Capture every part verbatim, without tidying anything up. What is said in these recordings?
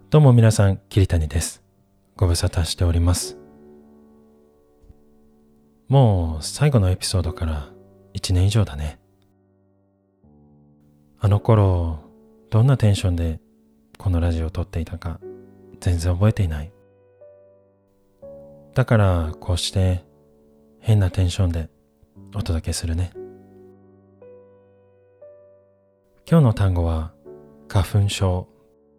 どうも皆さん、桐谷です。ご無沙汰しております。もう最後のエピソードからいちねん以上だね。あの頃、どんなテンションでこのラジオを撮っていたか全然覚えていない。だからこうして変なテンションでお届けするね。今日の単語は花粉症。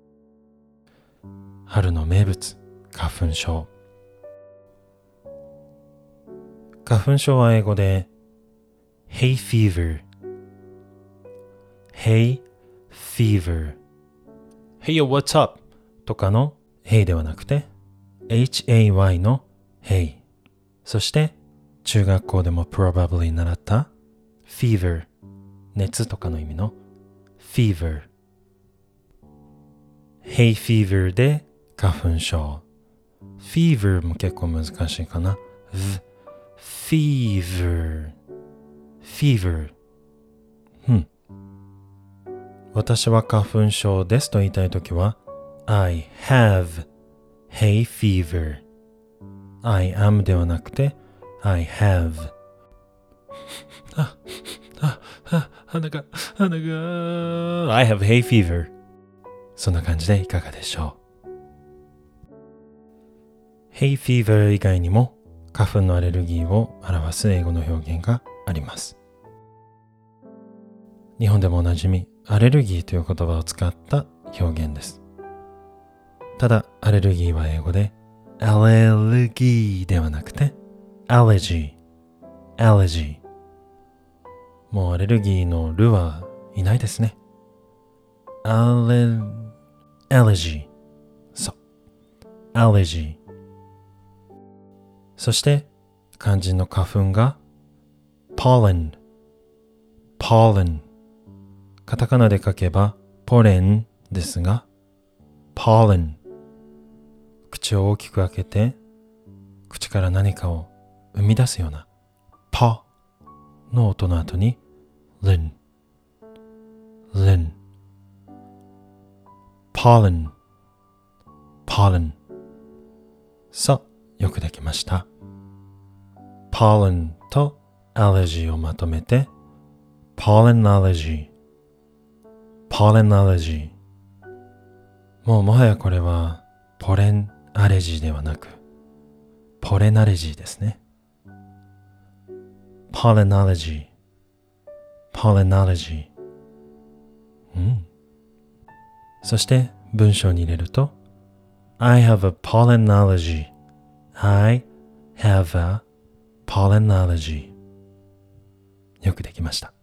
春の名物、花粉症。花粉症は英語で hay fever。hay fever。Hey yo, what's up? とかの hey ではなくて hay の hey。そして中学校でも probably 習った fever。熱とかの意味の fever。hay fever で花粉症。fever も結構難しいかな。fever fever うん私は花粉症ですと言いたいときは I have hay fever I am ではなくて I have あ、あ、あ、鼻が、鼻が I have hay fever そんな感じでいかがでしょう。hay fever 以外にも花粉のアレルギーを表す英語の表現があります。日本でもおなじみアレルギーという言葉を使った表現です。ただアレルギーは英語でアレルギーではなくてアレジーアレジー。もうアレルギーのルはいないですね。アレアレジーそうアレジー。そして肝心の花粉が pollen pollen カタカナで書けばポレンですが pollen 口を大きく開けて口から何かを生み出すような パの音の後に lin lin pollen pollen さあよくできました。pollen と allergy をまとめて pollen allergy pollen allergy。 もうもはやこれはポレンアレジーではなくポレンアレジーですね。 pollen allergy pollen allergy。 うんそして文章に入れると I have a pollen allergy I have a pollen allergy。 よくできました。